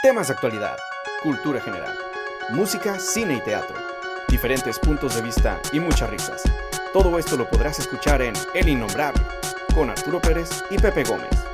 Temas de actualidad, cultura general, música, cine y teatro, diferentes puntos de vista y muchas risas. Todo esto lo podrás escuchar en El Innombrable, con Arturo Pérez y Pepe Gómez.